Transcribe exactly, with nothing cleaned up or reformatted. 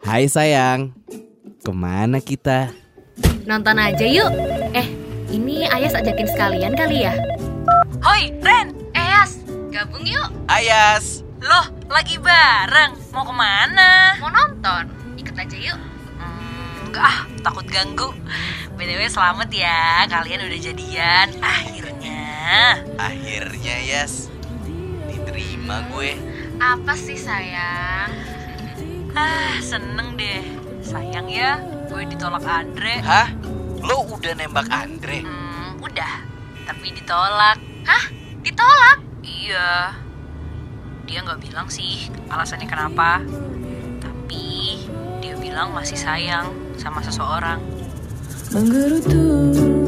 Hai sayang, kemana kita? Nonton aja yuk. Eh, ini Ayas ajakin sekalian kali ya? Hoi, Ren, Ayas, gabung yuk. Ayas. Loh, lagi bareng. Mau kemana? Mau nonton? Ikut aja yuk. Hmm, enggak ah, takut ganggu. B T W selamat ya, kalian udah jadian. Akhirnya. Akhirnya Yas, diterima gue. Apa sih sayang? Ah, seneng deh. Sayang ya, gue ditolak Andre. Hah? Lo udah nembak Andre? Hmm, udah, tapi ditolak. Hah? Ditolak? Iya. Dia gak bilang sih alasannya kenapa. Tapi dia bilang masih sayang sama seseorang. Menggerutu